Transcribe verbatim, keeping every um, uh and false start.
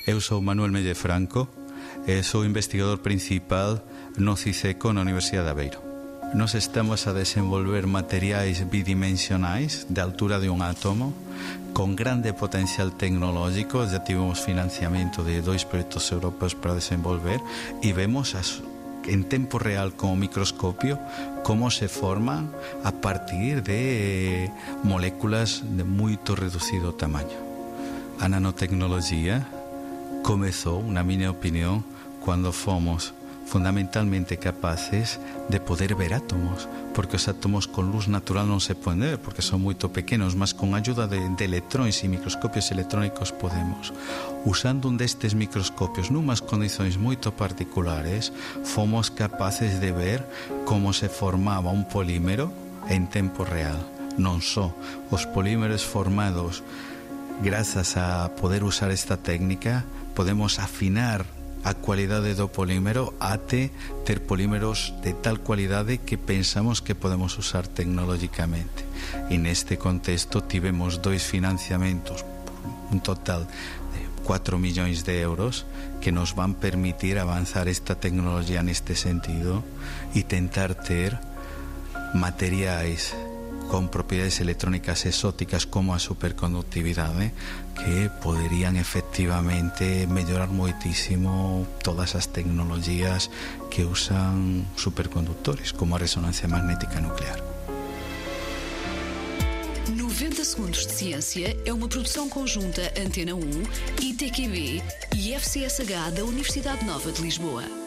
Eu sou Manuel Melle Franco e sou investigador principal no CICECO na Universidade de Aveiro. Nós estamos a desenvolver materiais bidimensionais de altura de un átomo con grande potencial tecnológico. Já tivemos financiamento de dois proxectos europeos para desenvolver e vemos as, en tempo real con o microscopio como se forman a partir de moléculas de moito reducido tamaño. A nanotecnología comezou, na miña opinión, cando fomos fundamentalmente capaces de poder ver átomos, porque os átomos con luz natural non se poden ver porque son moito pequenos, mas con ayuda de, de electróns e microscopios electrónicos podemos. Usando un destes microscopios numas condicións moito particulares, fomos capaces de ver como se formaba un polímero en tempo real. Non só os polímeros formados grazas a poder usar esta técnica, podemos afinar a cualidade do polímero até ter polímeros de tal cualidade que pensamos que podemos usar tecnológicamente. E neste contexto tivemos dois financiamentos por un total de cuatro millóns de euros que nos van permitir avanzar esta tecnología neste sentido e tentar ter materiais con propiedades electrónicas exóticas como a superconductividade que poderían efectivamente mellorar moitísimo todas as tecnologías que usan supercondutores como a resonancia magnética nuclear. noventa Segundos de Ciência é uma produção conjunta Antena um, I T Q B e F C S H da Universidade Nova de Lisboa.